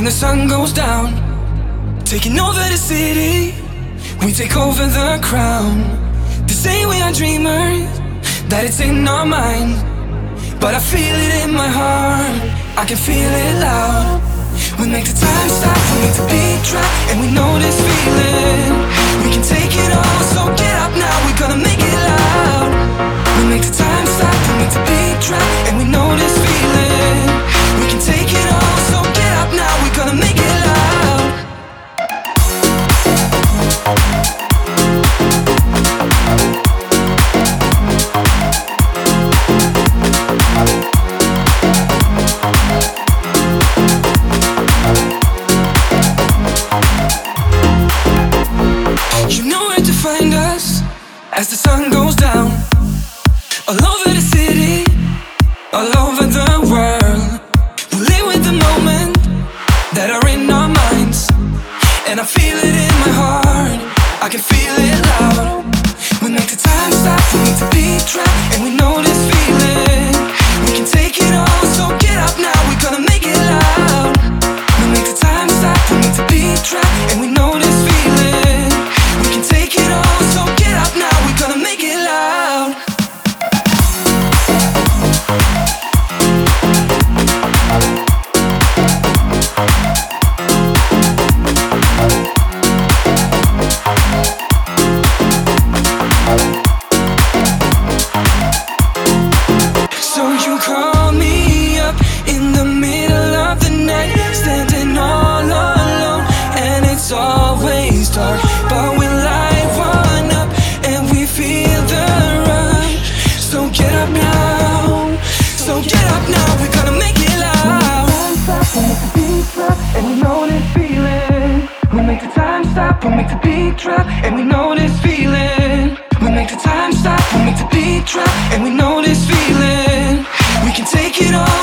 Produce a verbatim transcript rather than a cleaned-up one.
When the sun goes down, taking over the city, we take over the crown. They say we are dreamers, that it's in our mind, but I feel it in my heart, I can feel it loud. We make the time stop, we make the beat drop, and we know this feeling. We can take it all, so get up now, we're gonna make it loud. We make the time stop, we make the beat drop, and we know this feeling. We can take it all, so get up now, we're gonna make it loud. You know where to find us as the sun goes down. All over the city, all over the world. We live with the moment that are in our minds, and I feel it in my heart, I can feel it loud. We make the time stop, we make the beat drop, and we know this feeling. We can take it all, so get up now, we're gonna make it loud. We make the time stop, we make the beat drop, and we know this feeling. We can take it all, so get up now, we're gonna make it loud. So you call me up in the middle of the night, standing all alone, and it's always dark, but we light one up and we feel the rush. So get up now, so get up now, we're gonna make it loud. We make the beat drop, and we know this feeling. We make the time stop, we make the beat drop, and we know this feeling. We make the time stop, we make the beat drop, and we know this feeling. We can take it all.